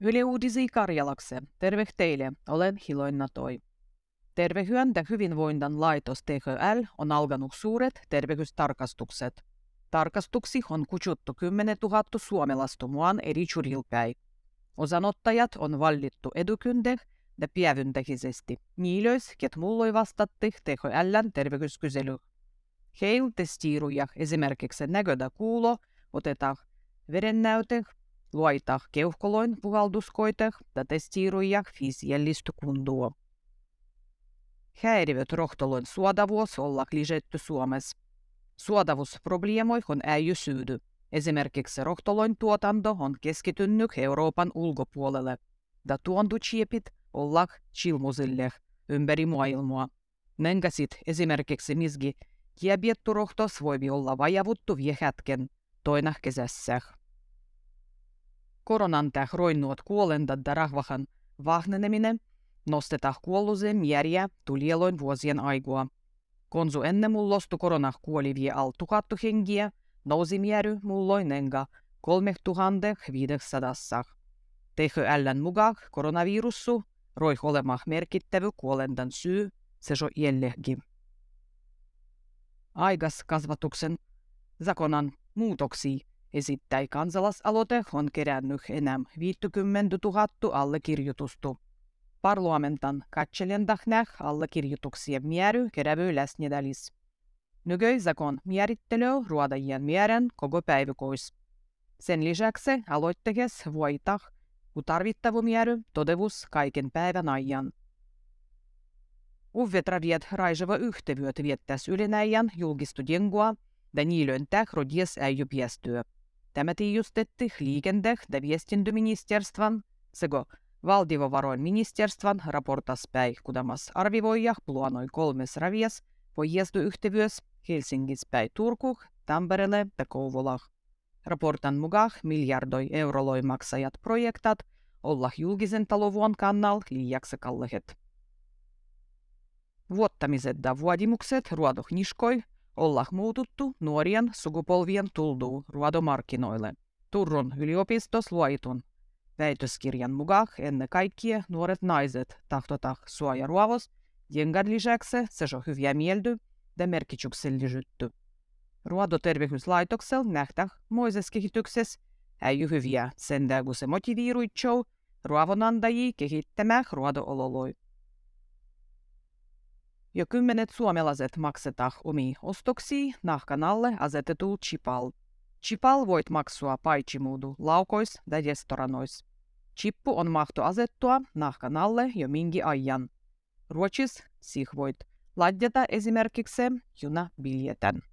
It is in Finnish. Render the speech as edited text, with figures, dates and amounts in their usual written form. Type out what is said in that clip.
Yle Uudisi Karjalakse. Terve teille, olen Hiloina Toi. Terveyden ja hyvinvoinnin laitos THL on alkanut suuret terveystarkastukset. Tarkastuksi on kutsuttu 10 000 suomalaista muaan eri jurilpäin. Osanottajat on valittu etukäteen ja päivyntäisesti. Niilöis, ket mulloi vastatti THL:n terveyskysely. Heil testiiruja esimerkiksi näködä kuulo, otetaan verennäyte, luoita keuhkoloin puhalduskoite ja testiiruja fysiellistä kuntoa. Häiriöt rohtolon suodavuus olla lisätty Suomessa. Suodavuusprobleemoihin ei syydy. Esimerkiksi rohtoloin tuotanto on keskittynyt Euroopan ulkopuolelle, ja tuontochiepit olla chilmusille ympäri maailmaa. Nenkäsit esimerkiksi misgi diabeetturohtos voi olla vajavuttu vie hetken, toina kesässä. Koronan roinnuot kuolentat ja rahvahan vahneneminen nostetaan kuolluisen määriä tulieloin vuosien aikua. Konsu ennen mullostu koronah kuoli vie al 1000 hengiä, nousi määrä mulloin enga 3500. THL:n mukaan koronavirussu roi olemaan merkittävä kuolentan syy, se on jällekin. Aikaskasvatuksen zakonan muutoksia esittäi kansalaisaloite on kerännyt enää 50 000 allekirjoitusta. Parlamentan katselendahnäh allekirjoituksien määrä kerävy läsnedälis. Nykyisakon määrittely ruodajien määrän koko päiväkois. Sen lisäksi aloitteessa voitah, kun tarvittava määrä todevus kaiken päivän ajan. Uvetraviet raiseva yhtevyöt viettäs ylenäjän julkistu jengua, ja niilön rodies ei piästyä. Tämä tiijustetti liikende- ja viestintäministerstvan sekä valtiovarainministerstvan raportas päin, kudamas arvivoija planoi 3 ravias pojezduyhtevyös Helsingis päin Turku, Tampereelle ja Kouvolah. Raportan mukaan miljardoi euroloi maksajat projektat olla julkisen talouden kannalta liiaksi kalliit. Vuottamiset ja vuodimukset ruodohniskoi olla muututtu nuorien sukupolvien tultuu ruodomarkkinoille. Turun yliopistos luoitun väitöskirjan mukaan ennen kaikkea nuoret naiset tahtotah suojaruovos, jengan lisäksi se on hyviä mieldy ja merkityksellisyytty. Ruodoterveyslaitoksella nähdään moisessa kehityksessä ei hyviä sen kun se motiviiruitsou ruovonantajia kehittämään ruodo-ololoi. Jo 10 suomalaiset maksetaan omia ostoksia nahkan alle asetetulla chipal. Chipal voit maksua paitsimuudu laukois ja restoranois. Chippu on mahto asettua nahkan alle jo mingi ajan. Ruotsis sich voit ladjata esimerkiksi junabiljetten.